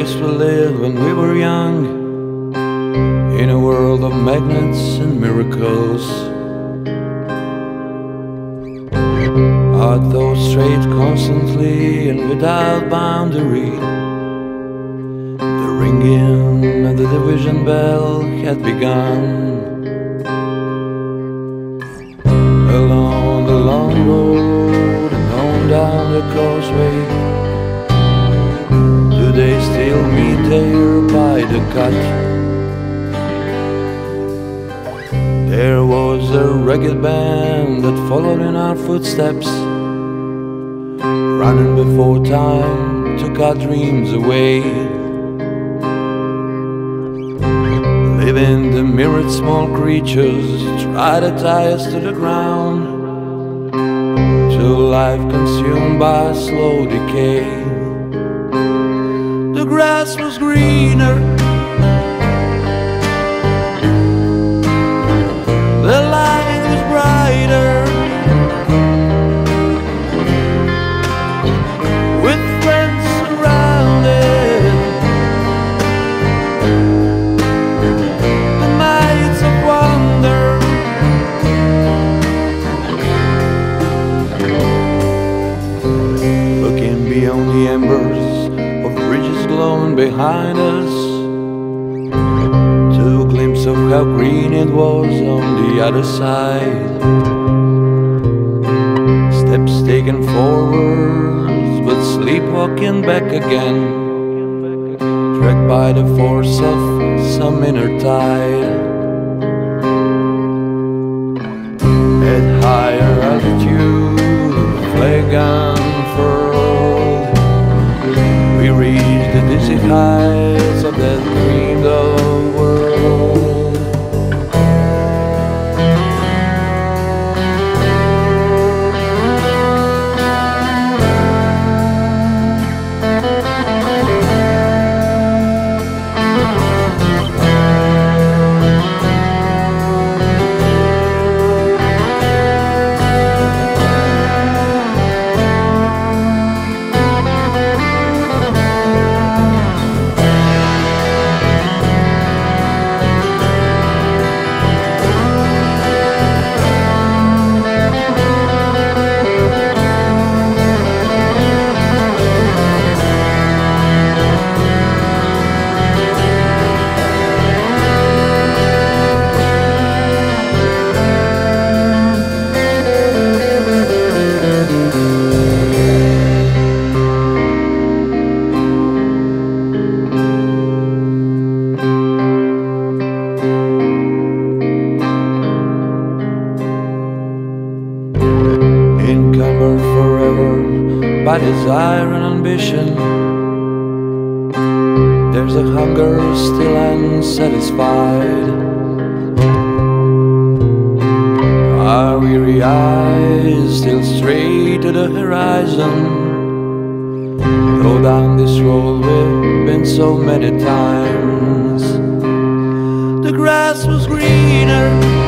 used to live when we were young, in a world of magnets and miracles. Our thoughts strayed constantly and without boundary. The ringing of the division bell had begun. Along the long road and on down the causeway, do they still meet there by the cut? There was a ragged band that followed in our footsteps, running before time took our dreams away. Living the mirrored small creatures try to tie us to the ground, till life consumed by slow decay. The grass was greener, the light was brighter, with friends surrounded, the nights of wonder. Looking beyond the embers of bridges glowing behind us, to a glimpse of how green it was on the other side. Steps taken forwards, but sleepwalking back again, dragged by the force of some inner tide. At higher altitude, the flag unfurled, we reached the dizzy heights of that dreamed of world. Encumbered forever by desire and ambition, there's a hunger still unsatisfied. Our weary eyes still stray to the horizon, go down this road we've been so many times. The grass was greener,